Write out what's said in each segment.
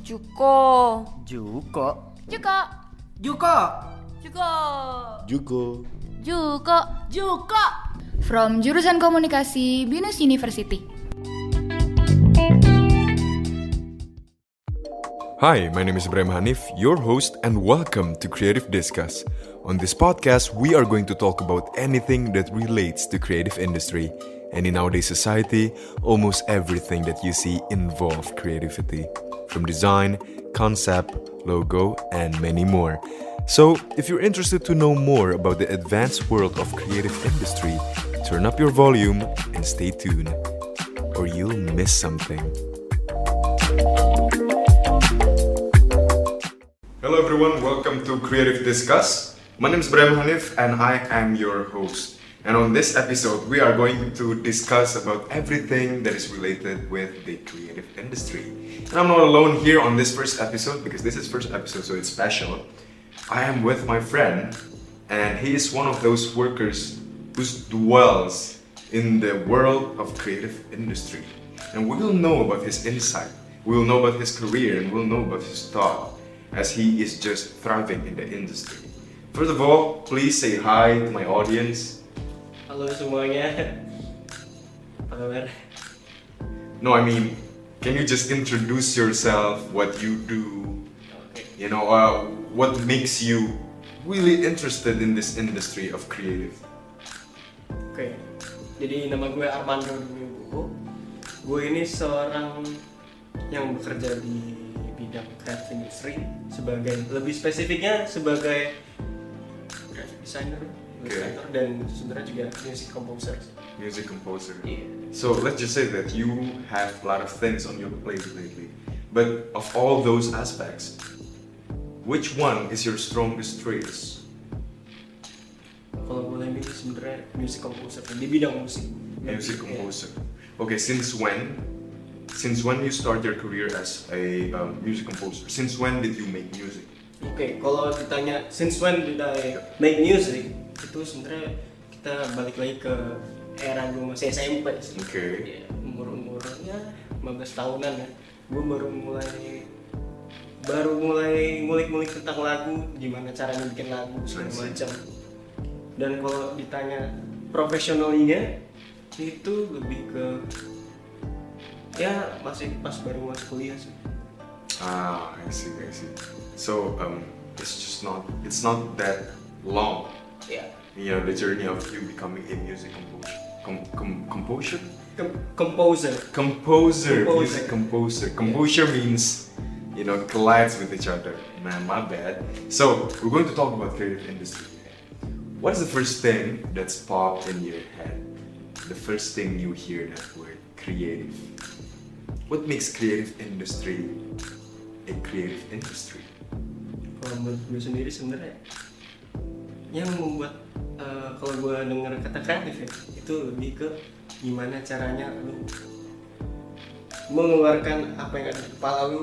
Juko. Juko. Juko. Juko. Juko. Juko. Juko. Juko. From jurusan Komunikasi BINUS University. Hi, my name is Ibrahim Hanif, your host, and welcome to Creative Discuss. On this podcast, we are going to talk about anything that relates to creative industry. And in nowadays society, almost everything that you see involves creativity. From design, concept, logo, and many more. So, if you're interested to know more about the advanced world of creative industry, turn up your volume and stay tuned, or you'll miss something. Hello everyone, welcome to Creative Discuss. My name is Ibrahim Hanif and I am your host. And on this episode, we are going to discuss about everything that is related with the creative industry. And I'm not alone here on this first episode because this is first episode, so it's special. I am with my friend, and he is one of those workers who dwells in the world of creative industry. And we will know about his insight, we will know about his career, and we'll know about his thought as he is just thriving in the industry. First of all, please say hi to my audience. Halo semuanya. Apa kabar? No, I mean, can you just introduce yourself, what you do, you know, what makes you really interested in this industry of creative? Oke. Jadi nama gue Armando Domingo. Gue ini seorang yang bekerja di bidang creative industry lebih spesifiknya sebagai graphic designer, illustrator, dan sebenarnya juga music composer. Music composer. Yeah. So let's just say that you have a lot of things on your plate lately. But of all those aspects, which one is your strongest traits? Kalau boleh milih sebenarnya music composer di bidang musik. Music composer. Okay, since when? Since when you start your career as a music composer? Since when did you make music? Oke, kalau ditanya since when did I make music, itu sebenarnya kita balik lagi ke era gue masih SMP sih. Oke. Ya, umur ya 15 tahunan ya. Gue baru mulai ngulik-ngulik tentang lagu, gimana caranya bikin lagu segala macam. Dan kalau ditanya profesionalnya, itu lebih ke ya masih pas baru masuk kuliah sih. Ah, I see. So it's not that long. Ya. You know, the journey of you becoming a music composer. Music composer. Composure means, you know, collides with each other. Man, my bad. So we're going to talk about creative industry. What is the first thing that's popped in your head? The first thing you hear that word, creative. What makes creative industry a creative industry? Kalau menurut gue sendiri sebenarnya yang membuat kalau gue dengar kata kreatif ya, itu lebih ke gimana caranya lu mengeluarkan apa yang ada di kepala lu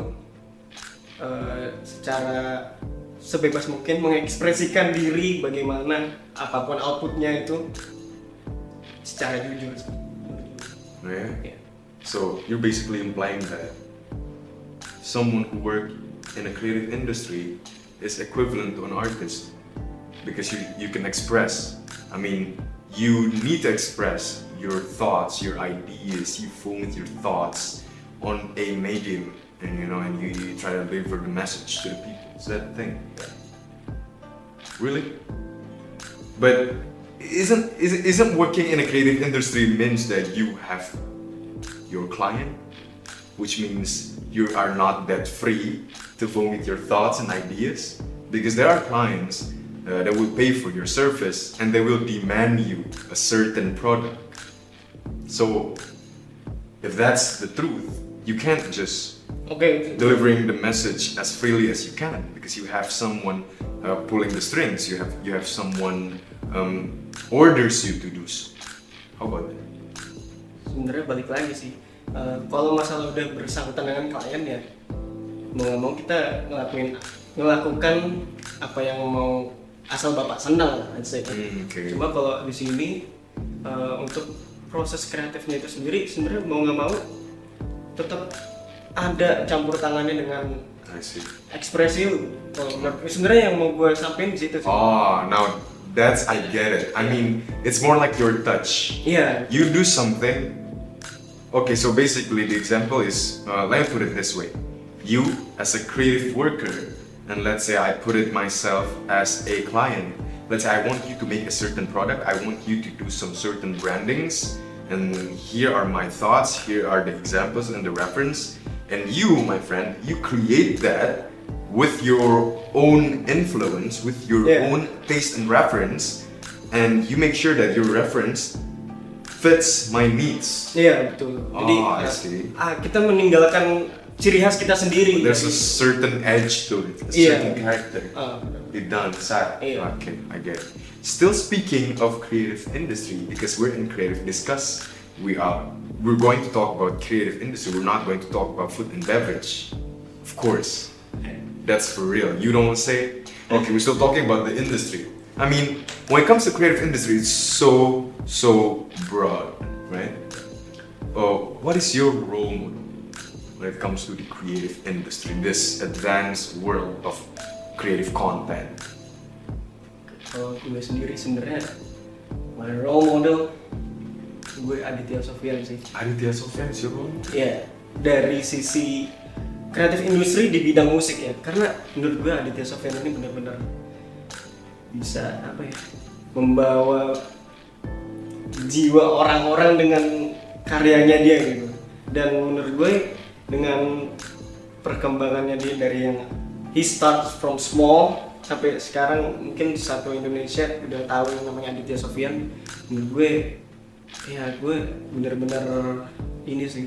secara sebebas mungkin, mengekspresikan diri bagaimana apapun outputnya itu secara jujur. Yeah. So you're basically implying that someone who works in a creative industry is equivalent to an artist because you can express. I mean, you need to express your thoughts, your ideas. You form your thoughts on a medium, and you try to deliver the message to the people. Is that the thing? Really? But isn't working in a creative industry means that you have your client, which means you are not that free to vomit your thoughts and ideas, because there are clients that will pay for your service and they will demand you a certain product. So if that's the truth, you can't just delivering the message as freely as you can, because you have someone pulling the strings, you have someone orders you to do so. How about that? Sebenarnya balik lagi sih, kalau masalah udah bersangkutan dengan klien ya, mau nggak mau kita ngelakukan apa yang mau asal bapak senang lah, let's say. Okay. Cuma kalau di sini untuk proses kreatifnya itu sendiri sebenarnya mau nggak mau tetap ada campur tangannya dengan I see. ekspresi lu. Kalau menurut gue sebenarnya yang mau gue sampein di situ sih. Oh, now that's I get it. I mean, it's more like your touch. Iya. You do something. Okay, so basically the example is, let me put it this way. You as a creative worker, and let's say I put it myself as a client. Let's say I want you to make a certain product. I want you to do some certain brandings. And here are my thoughts. Here are the examples and the reference. And you, my friend, you create that with your own influence, with your own taste and reference, and you make sure that your reference fits my needs. Iya, betul. Jadi I see. Kita meninggalkan ciri khas kita sendiri. There's a certain edge to it, a certain character. It done, sad. Iya. Okay, I get it. Still speaking of creative industry, because we're in Creative Discuss, we're going to talk about creative industry. We're not going to talk about food and beverage, of course. That's for real. You don't say, okay, we're still talking about the industry. I mean, when it comes to creative industry, it's so broad, right? What is your role model when it comes to the creative industry, this advanced world of creative content? Kalau gue sendiri sebenarnya, my role model gue Aditya Sofyan sih. Aditya Sofyan is your role model? Iya, dari sisi kreatif industri di bidang musik ya. Karena menurut gue Aditya Sofyan ini benar-benar bisa membawa jiwa orang-orang dengan karyanya dia gitu. Dan menurut gue dengan perkembangannya dia dari yang he starts from small sampai sekarang mungkin satu Indonesia udah tahu yang namanya Aditya Sofyan. Menurut gue gue benar-benar ini sih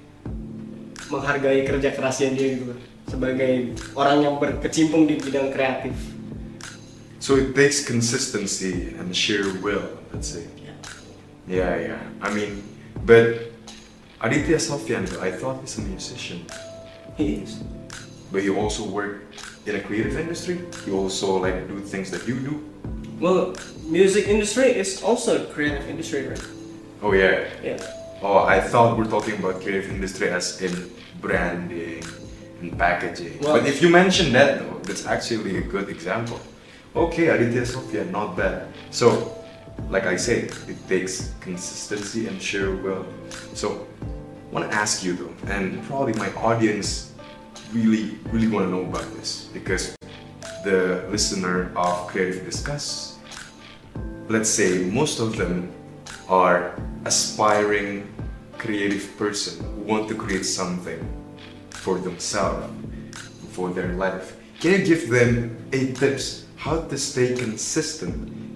menghargai kerja kerasnya dia gitu sebagai orang yang berkecimpung di bidang kreatif. So it takes consistency and sheer will, let's say. Yeah. I mean, but Aditya Sofyan, I thought he's a musician. He is. But you also work in a creative industry? You also do things that you do? Well, music industry is also a creative industry, right? Oh yeah. Yeah. Oh, I thought we're talking about creative industry as in branding and packaging. Well, but if you mention that though, that's actually a good example. Okay, Aditya Sofyan, not bad. So, like I say, it takes consistency and sheer will. So, I want to ask you though, and probably my audience really want to know about this, because the listener of Creative Discuss, let's say most of them are aspiring creative person who want to create something for themselves, for their life. Can you give them 8 tips how to stay consistent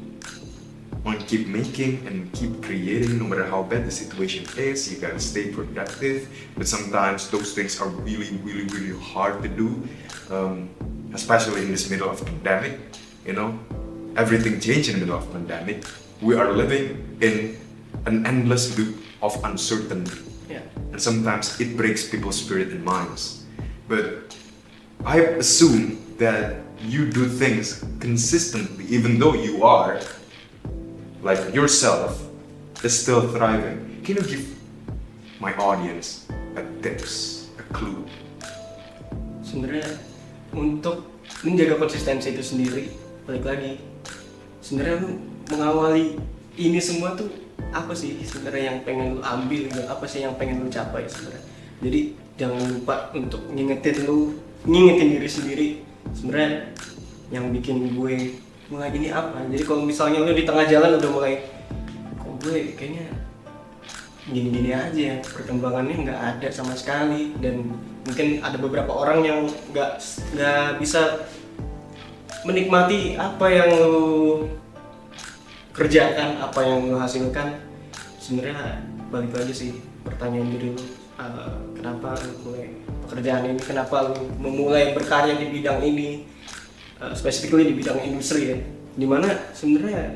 on keep making and keep creating no matter how bad the situation is? You gotta stay productive, but sometimes those things are really hard to do, especially in this middle of pandemic. You know, everything changed in the middle of pandemic. We are living in an endless loop of uncertainty, and sometimes it breaks people's spirit and minds. But I assume that you do things consistently, even though you are like yourself is still thriving. Can you give my audience a tips, a clue? Sebenarnya untuk menjaga konsistensi itu sendiri, balik lagi, sebenarnya lu mengawali ini semua tuh apa sih sebenarnya yang pengen lu ambil gitu, apa sih yang pengen lu capai sebenarnya. Jadi jangan lupa untuk ngingetin diri sendiri sebenarnya yang bikin gue mulai ini apa. Jadi kalau misalnya lu di tengah jalan udah mulai, kok gue kayaknya gini-gini aja, perkembangannya nggak ada sama sekali, dan mungkin ada beberapa orang yang nggak bisa menikmati apa yang lu kerjakan, apa yang lu hasilkan. Sebenarnya balik lagi sih pertanyaan diri lu, kenapa lu mulai pekerjaan ini, kenapa lu memulai berkarya di bidang ini, specifically di bidang industri ya, dimana sebenarnya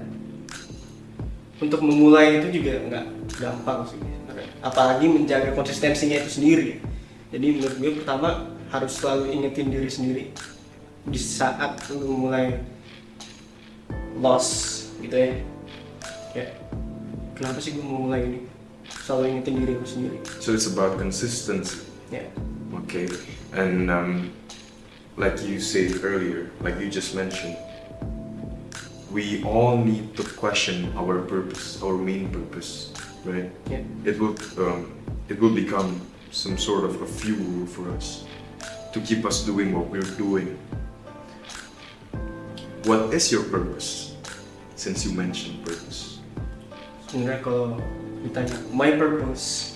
untuk memulai itu juga nggak gampang sih sebenarnya, apalagi menjaga konsistensinya itu sendiri. Jadi menurut gue pertama harus selalu ingetin diri sendiri di saat lu mulai lost gitu ya, kayak kenapa sih gue mau mulai ini, selalu ingetin diri lu sendiri. So it's about consistency. Yeah. Okay, and like you said earlier, like you just mentioned, we all need to question our purpose, our main purpose, right? Yeah. It will become some sort of a fuel for us to keep us doing what we're doing. What is your purpose? Since you mentioned purpose. Sebenarnya kalau ditanya my purpose,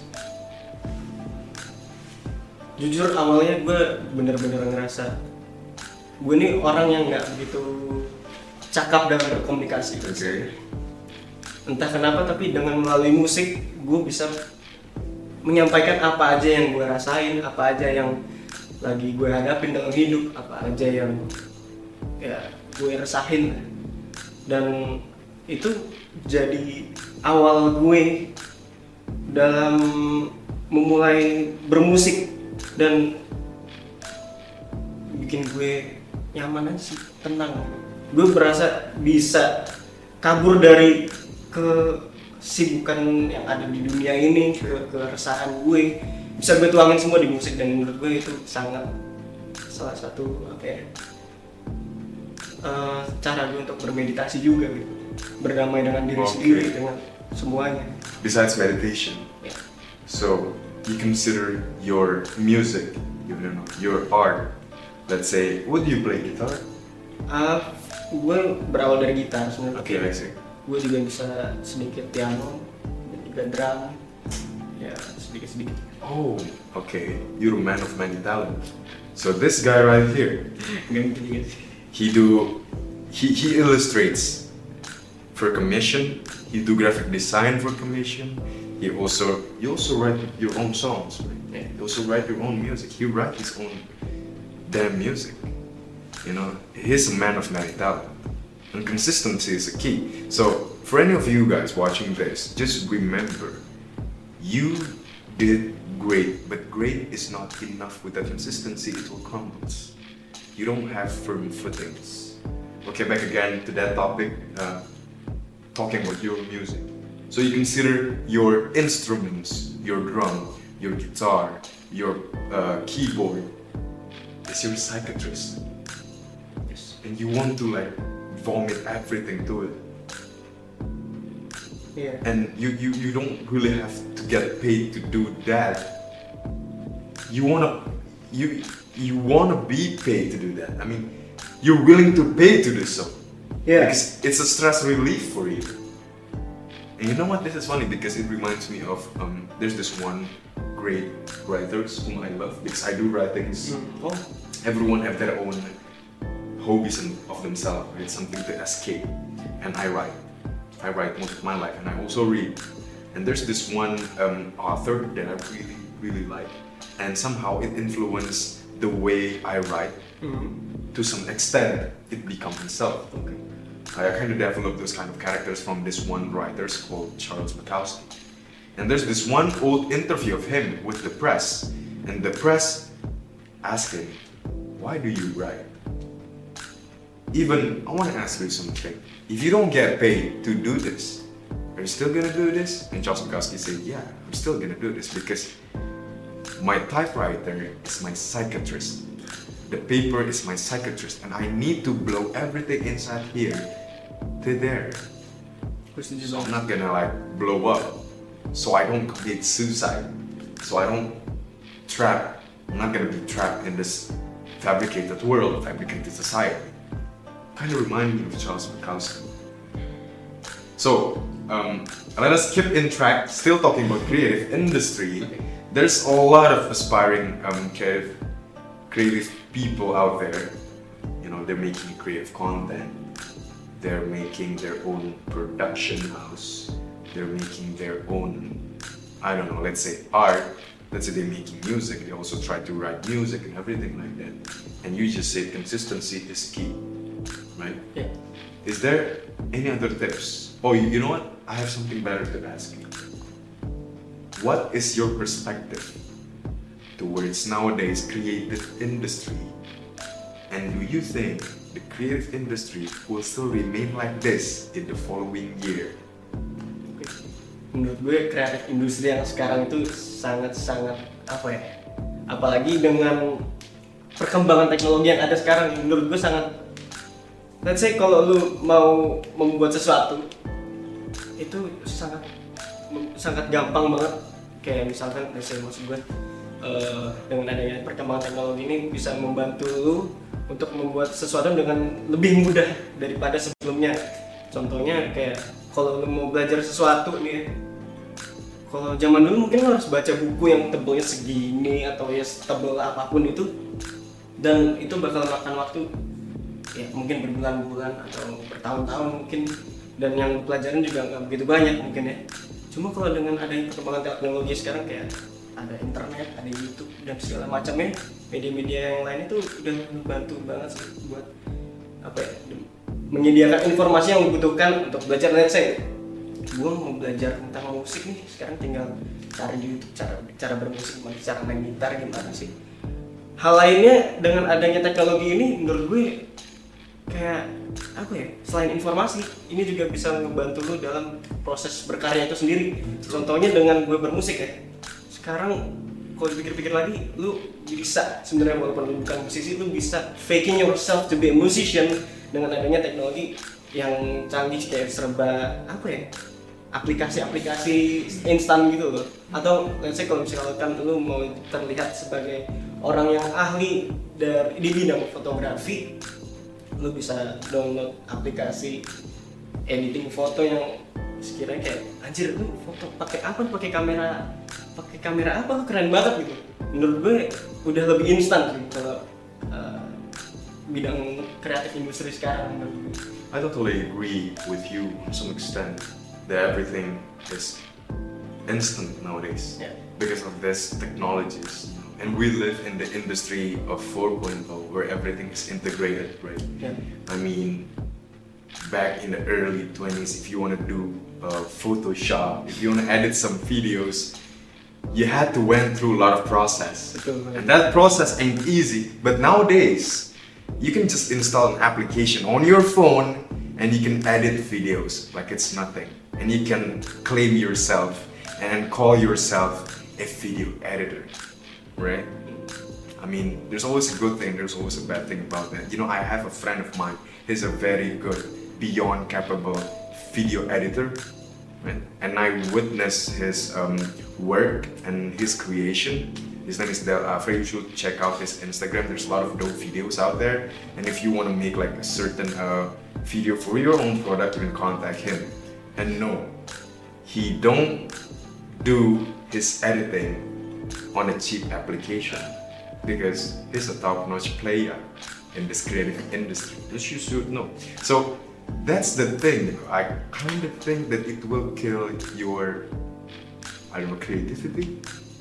jujur awalnya gue bener-bener ngerasa gue nih orang yang nggak begitu cakap dalam berkomunikasi. Okay. Entah kenapa tapi dengan melalui musik gue bisa menyampaikan apa aja yang gue rasain, apa aja yang lagi gue hadapin dalam hidup, apa aja yang ya gue resahin. Dan itu jadi awal gue dalam memulai bermusik dan bikin gue nyaman aja sih, tenang. Gue berasa bisa kabur dari kesibukan yang ada di dunia ini, keresahan gue bisa gue tuangin semua di musik. Dan menurut gue itu sangat salah satu cara gue untuk bermeditasi juga gitu, berdamai dengan diri sendiri, dengan semuanya. Besides meditation, Yeah. so you consider your music, your art. Let's say, would you play guitar? Gue berawal dari gitar sebenarnya. Okay, I see. Gue juga bisa sedikit piano dan juga drum, ya sedikit. Oh, okay. You're a man of many talents. So this guy right here, Gak gitu juga sih. he illustrates for commission. He do graphic design for commission. You also write your own songs. Right? Yeah. You also write your own music. He write his own damn music. You know, he's a man of many talent, and consistency is a key. So for any of you guys watching this, just remember, you did great, but great is not enough. With that consistency, it will crumble. You don't have firm footings. Okay, back again to that topic, talking about your music. So you consider your instruments, your drum, your guitar, your keyboard, is your psychiatrist. Yes. And you want to like vomit everything to it. Yeah. And you don't really have to get paid to do that. You wanna be paid to do that. I mean, you're willing to pay to do so. Yeah. Because it's a stress relief for you. And you know what? This is funny because it reminds me of there's this one great writers whom I love because I do writings. Oh. Everyone have their own hobbies of themselves, right? Something to escape. And I write most of my life, and I also read. And there's this one author that I really like, and somehow it influenced the way I write. To some extent, it became myself. Okay. I kind of developed those kind of characters from this one writer called Charles Bukowski. And there's this one old interview of him with the press, and the press asked him, "Why do you write?" Even, I want to ask you something. If you don't get paid to do this, are you still gonna do this? And Charles Bukowski said, "Yeah, I'm still gonna do this because my typewriter is my psychiatrist. The paper is my psychiatrist, and I need to blow everything inside here to there. So I'm not gonna like blow up, so I don't commit suicide, so I don't I'm not gonna be trapped in this fabricated world, fabricated society." Kind of remind me of Charles Bukowski. So let us keep in track. Still talking about creative industry. There's a lot of aspiring creative people out there. You know, they're making creative content. They're making their own production house. They're making their own, I don't know, let's say art. Let's say they're making music. They also try to write music and everything like that. And you just said consistency is key, right? Yeah. Is there any other tips? Oh, you know what? I have something better to ask you. What is your perspective towards nowadays creative industry? And do you think the creative industry will still remain like this in the following year? Menurut gue kreatif industri yang sekarang itu sangat-sangat apa ya? Apalagi dengan perkembangan teknologi yang ada sekarang menurut gue sangat, let's say kalau lu mau membuat sesuatu itu sangat gampang banget. Kayak misalkan let's say maksud gue dengan adanya perkembangan teknologi ini bisa membantu lu untuk membuat sesuatu dengan lebih mudah daripada sebelumnya. Contohnya kayak kalau lu mau belajar sesuatu nih, kalau zaman dulu mungkin lu harus baca buku yang tebelnya segini atau ya setebel apapun itu, dan itu bakal makan waktu ya mungkin berbulan-bulan atau bertahun-tahun mungkin, dan yang pelajaran juga nggak begitu banyak mungkin ya. Cuma kalau dengan adanya perkembangan teknologi sekarang kayak ada internet, ada YouTube dan segala macamnya, media-media yang lain itu udah membantu banget sih buat apa ya, menyediakan informasi yang dibutuhkan untuk belajar. Let's say gue mau belajar tentang musik nih, sekarang tinggal cari di YouTube cara bermusik, cara main gitar gimana sih. Hal lainnya dengan adanya teknologi ini menurut gue kayak apa ya, selain informasi ini juga bisa membantu lu dalam proses berkarya itu sendiri. Contohnya dengan gue bermusik ya, sekarang kalau dipikir-pikir lagi, lu bisa sebenarnya walaupun lu bukan musisi, lu bisa faking yourself to be a musician dengan adanya teknologi yang canggih kayak serba apa ya, aplikasi-aplikasi instan gitu loh. Atau let's say kalau misalkan lu mau terlihat sebagai orang yang ahli di bidang fotografi, lu bisa download aplikasi editing foto yang sekiranya kayak anjir lu foto pakai apa, pakai kamera apa, keren banget gitu. Menurut gue udah lebih instan sih kalau bidang kreatif industri sekarang. I totally agree with you to some extent that everything is instant nowadays because of this technologies. And we live in the industry of 4.0 where everything is integrated, right? Yeah. I mean, back in the early 20s, if you want to do Photoshop, if you want to edit some videos, you had to went through a lot of process. And that process ain't easy. But nowadays, you can just install an application on your phone and you can edit videos like it's nothing. And you can claim yourself and call yourself a video editor. Right? I mean, there's always a good thing, there's always a bad thing about that. You know, I have a friend of mine, he's a very good, beyond capable video editor. Right? And I witnessed his work and his creation. His name is Del Afre. You should check out his Instagram. There's a lot of dope videos out there. And if you want to make like a certain video for your own product, you can contact him. And no, he don't do his editing on a cheap application because he's a top-notch player in this creative industry. This you should know. So that's the thing. I kind of think that it will kill your, I don't know, creativity.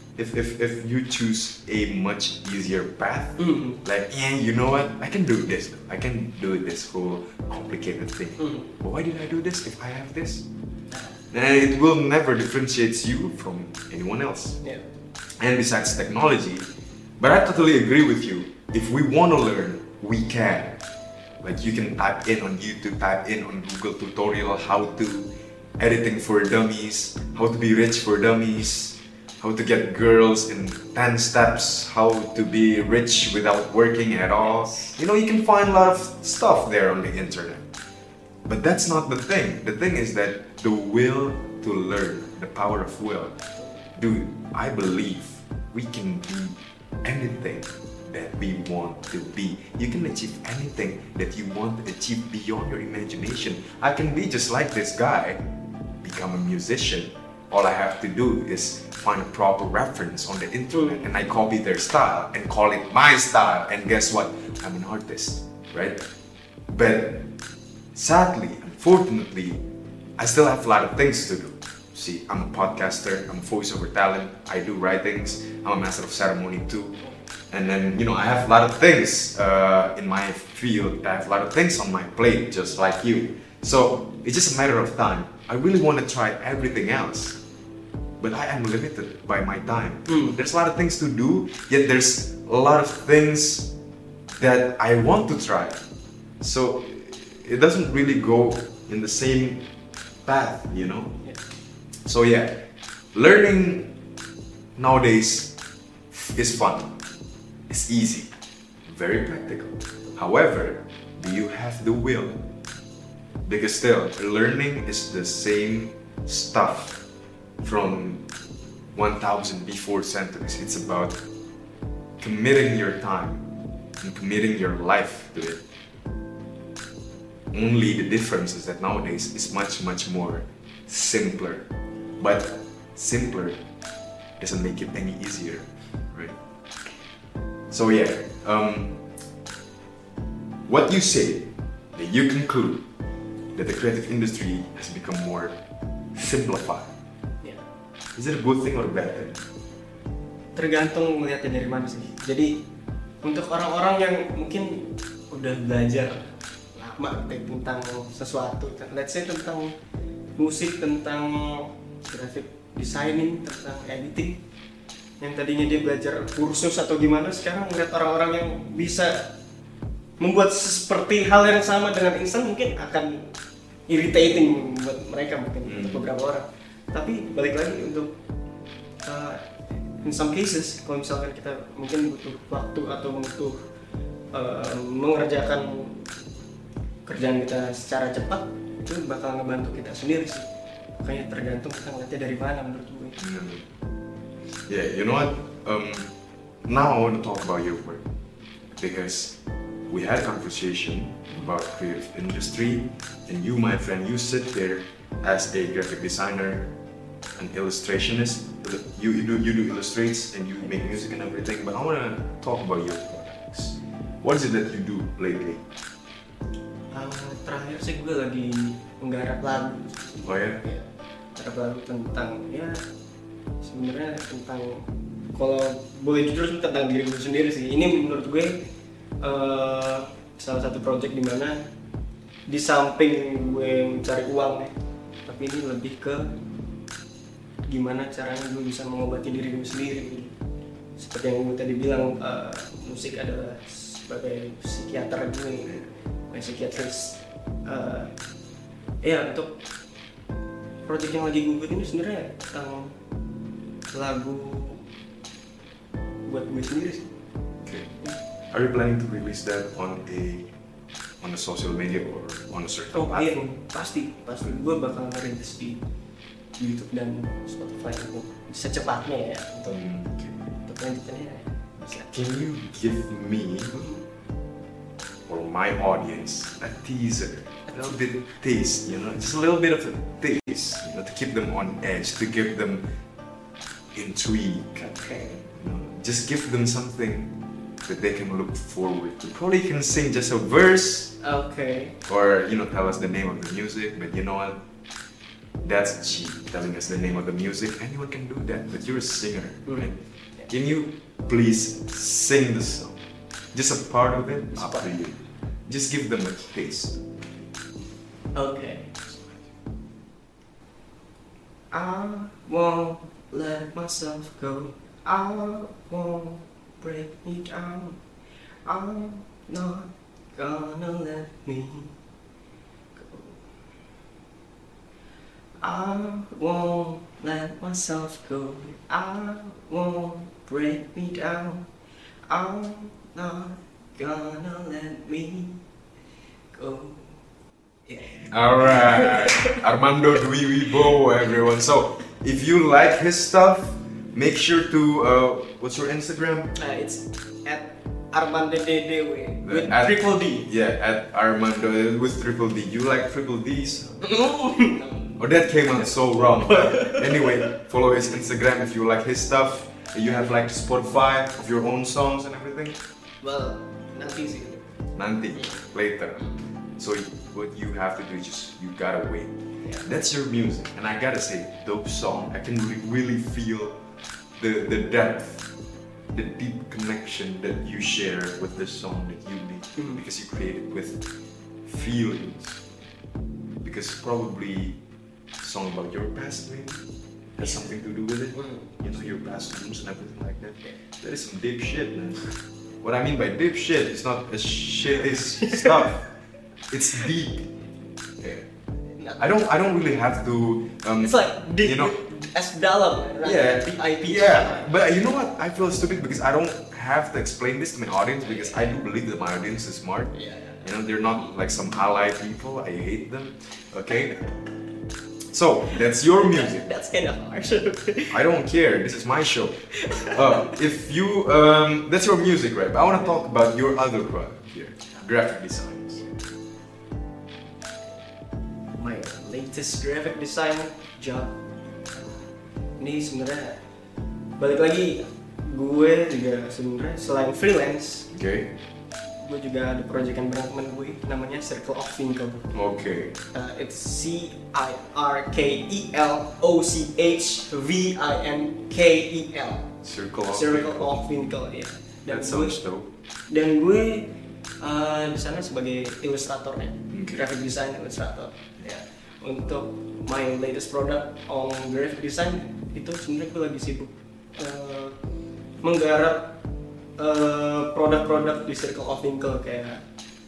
If you choose a much easier path, like, yeah, you know what, I can do this. I can do this whole complicated thing. But why did I do this if I have this? And it will never differentiate you from anyone else. Yeah. And besides technology, but I totally agree with you. If we want to learn, we can. Like you can type in on YouTube, type in on Google tutorial how to editing for dummies, how to be rich for dummies, how to get girls in 10 steps, how to be rich without working at all. You know, you can find a lot of stuff there on the internet. But that's not the thing. The thing is that the will to learn, the power of will. Dude, I believe we can be anything that we want to be. You can achieve anything that you want to achieve beyond your imagination. I can be just like this guy, become a musician. All I have to do is find a proper reference on the internet and I copy their style and call it my style, and guess what? I'm an artist, right? But sadly, unfortunately, I still have a lot of things to do. See, I'm a podcaster, I'm a voiceover talent, I do writings, I'm a master of ceremony too. And then, you know, I have a lot of things in my field, I have a lot of things on my plate, just like you. So, it's just a matter of time. I really want to try everything else, but I am limited by my time. There's a lot of things to do, yet there's a lot of things that I want to try. So, it doesn't really go in the same path, you know? So yeah, learning nowadays is fun, it's easy, very practical. However, do you have the will? Because still, learning is the same stuff from 1000 before centuries. It's about committing your time and committing your life to it. Only the difference is that nowadays it's much more simpler. But simpler doesn't make it any easier, right? So yeah, what you say, that you conclude that the creative industry has become more simplified. Ya, Is it a good thing or a bad thing? tergantung melihatnya dari mana sih. Jadi untuk orang-orang yang mungkin udah belajar lama tentang sesuatu, let's say tentang musik, tentang graphic designing, tentang editing, yang tadinya dia belajar kursus atau gimana, sekarang melihat orang-orang yang bisa membuat seperti hal yang sama dengan instan mungkin akan irritating buat mereka mungkin untuk beberapa orang. Tapi balik lagi untuk in some cases, kalau misalkan kita mungkin butuh waktu atau butuh mengerjakan kerjaan kita secara cepat, itu bakal ngebantu kita sendiri sih. Makanya tergantung kita ngeliatnya dari mana menurut gue. Yeah, you know what? Now I want to talk about your work because we had a conversation about creative industry, and you, my friend, you sit there as a graphic designer, an illustrationist. You do illustrates and you make music and everything. But I want to talk about your products. What is it that you do lately? Terakhir sih gue lagi menggarap lagu. Oh ya? Ya, garap lagu tentang ya sebenarnya tentang, kalau boleh jujur sih tentang diri gue sendiri sih. Ini menurut gue salah satu project di mana di samping gue mencari uang ya, tapi ini lebih ke gimana caranya gue bisa mengobati diri gue sendiri. Seperti yang gue tadi bilang, musik adalah sebagai psikiater gue, psikiatris. Ya, untuk project yang lagi gue buat ini sebenarnya tentang lagu buat gue sendiri sih. Okay. Are you planning to release that on a social media or on a certain Oh iya, platform? pasti gue bakal ngerilis di YouTube dan Spotify secepatnya ya untuk lanjutannya. Can you give me or my audience a teaser, a little bit taste, just a little bit of a taste, to keep them on edge, to give them intrigue. Okay. Just give them something that they can look forward to. Probably can sing just a verse, Okay. or tell us the name of the music. But you know what? That's cheap, telling us the name of the music. Anyone can do that, but you're a singer, right? Can you please sing the song? Just a part of it, up to you. Just give them a taste. Okay. I won't let myself go. I won't break me down. I'm not gonna let me go. I won't let myself go. I won't break me down. I'm not gonna let me go. Yeah. Alright, Armando Dwi Wibowo, everyone. So, if you like his stuff, make sure to, what's your Instagram? It's at Armando DDW with At- triple D. Yeah, at Armando with triple D. You like triple D's? No. Oh, that came out so wrong. But anyway, follow his Instagram if you like his stuff. You have like Spotify of your own songs and everything. Well, nanti sih. Nanti, later. So what you have to do is just, you gotta wait. Yeah. That's your music, and I gotta say, dope song. I can really feel the depth, the deep connection that you share with the song that you made, because you created with feelings. Because probably a song about your past maybe has something to do with it. Your past wounds and everything like that. That is some deep shit, man. What I mean by deep shit is not a shitty stuff. It's deep. Yeah. I don't really have to. It's like deep, as dalam, right? Yeah, Deep IP. yeah. But you know what? I feel stupid because I don't have to explain this to my audience because I do believe that my audience is smart. Yeah. You know, they're not like some ally people. I hate them. Okay. So that's your music. That's kind of harsh. I don't care. This is my show. If you, that's your music, right? But I want to talk about your other product here, graphic designs. My latest graphic design job. Ini sebenarnya balik lagi, gue juga sebenarnya selain freelance, Okay. gue juga ada proyekan bareng temen gue namanya Circle of Winkle. Okay. It's CIRKLOCHVINKEL. Circle of Winkle, ya. That sounds dope. Dan gue di sana sebagai ilustratornya, Okay. graphic design illustrator. Ya. Untuk my latest product on graphic design itu sebenarnya gue lagi sibuk menggarap produk-produk di Circle of Winkle kayak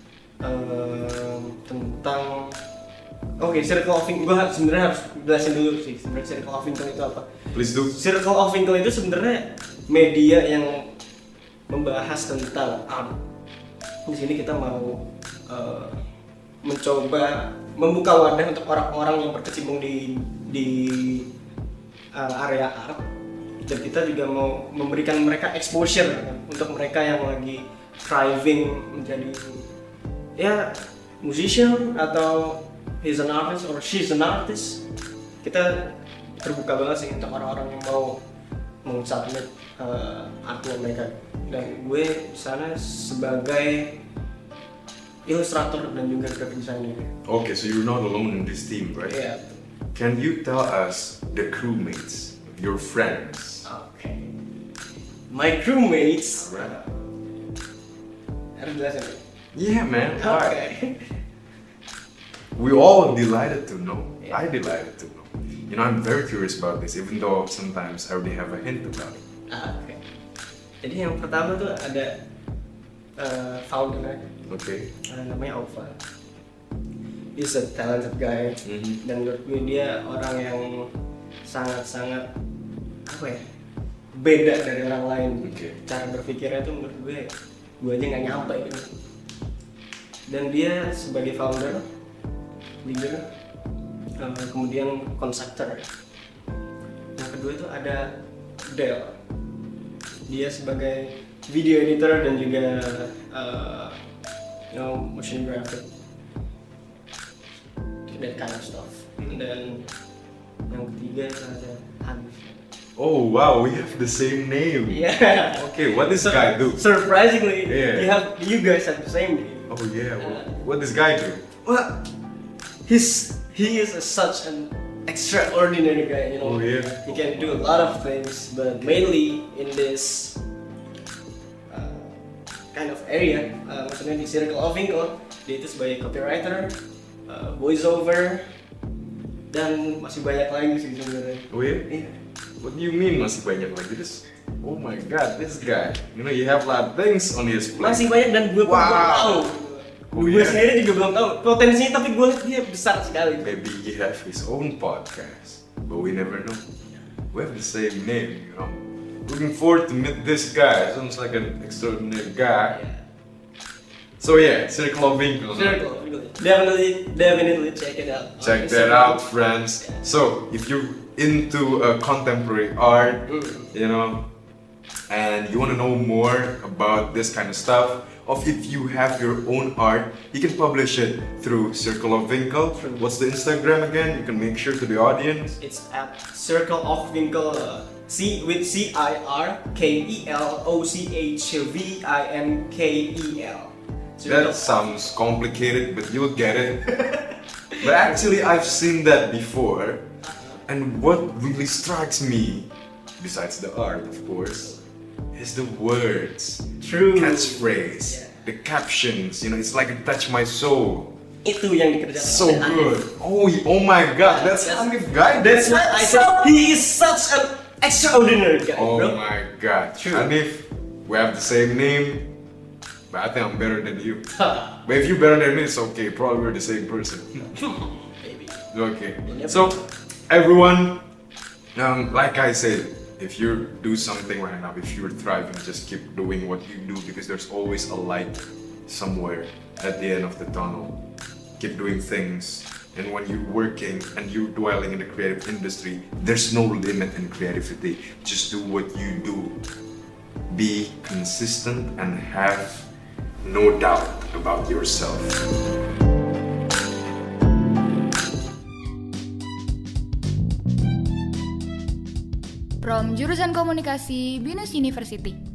tentang Circle of Winkle. Gue sebenarnya harus jelasin dulu sih sebenarnya Circle of Winkle itu apa. Please do. Circle of Winkle itu sebenarnya media yang membahas tentang art. Di sini kita mau mencoba membuka wadah untuk orang-orang yang berkecimpung di area art. Dan kita juga mau memberikan mereka exposure untuk mereka yang lagi thriving menjadi ya musician atau he's an artist or she's an artist. Kita terbuka banget sih untuk orang-orang yang mau submit artnya mereka. Dan gue di sana sebagai ilustrator dan juga graphic designer. Okay, so you're not alone in this team, right? Yeah. Can you tell us the crewmates, your friends? Okay. My crewmates. Alright. Harus jelasin. Yeah, man. Okay. We all delighted to know. Yeah. I delighted to know. You know, I'm very curious about this, even though sometimes I already have a hint about it. Okay. Jadi yang pertama tuh ada founder Okay. namanya Ova. He's a talented guy. Mhm. Dan menurut gue dia orang yang sangat-sangat apa ya, beda dari orang lain. Okay. Cara berpikirnya tuh menurut gue aja nggak nyampe gitu. Dan dia sebagai founder, leader, kemudian konseptor. Yang kedua itu ada Del. Dia sebagai video editor dan juga motion graphic, that kind of stuff. Dan yang ketiga itu ada Hanif. Oh wow, we have the same name. Yeah. Okay, what this guy do? Surprisingly, Yeah. you guys have the same name. Oh yeah, what this guy do? Well, he is such an extraordinary guy. You know, Oh, yeah. he can do a lot of things, but mainly in this kind of area, maksudnya di Circle of Winkle, dia itu sebagai copywriter, voiceover, dan masih banyak lagi sih sebenarnya. Oh yeah? Iya. What do you mean masih banyak lagi? This, oh my god, this guy. You know, you have a lot of things on his plate. Masih banyak dan gue pun belum tahu. Oh, Gue yeah. sendiri juga belum tahu potensinya, tapi gue lihat dia besar sekali. Maybe he have his own podcast, but we never know. We have the same name, you know. Looking forward to meet this guy. Sounds like an extraordinary guy. Yeah. So yeah, Circle of Winkle. Circle, definitely check it out. Check that out, friends. So if you're into contemporary art, you know, and you want to know more about this kind of stuff, or if you have your own art, you can publish it through Circle of Winkle. What's the Instagram again? You can make sure to the audience. It's at Circle of Winkle, with CIRKLOCHVINKEL. That sounds complicated, but you'll get it. But actually, I've seen that before. And what really strikes me, besides the art, of course, is the words, True. catchphrase, Yeah. the captions. You know, it's like it touched my soul. Itu yang dikerjakan So oleh Hanif. good. Oh my God, that's Hanif guy. That's what I said. He is such an extraordinary guy, Oh bro. my God, True. Hanif, we have the same name, but I think I'm better than you. Ha, But if you're better than me, it's okay. Probably we're the same person. Maybe. Okay. Yep. So, everyone, like I said, if you do something right now, if you're thriving, just keep doing what you do because there's always a light somewhere at the end of the tunnel. Keep doing things. And when you're working and you're dwelling in the creative industry, there's no limit in creativity. Just do what you do. Be consistent and have no doubt about yourself. From jurusan komunikasi BINUS University.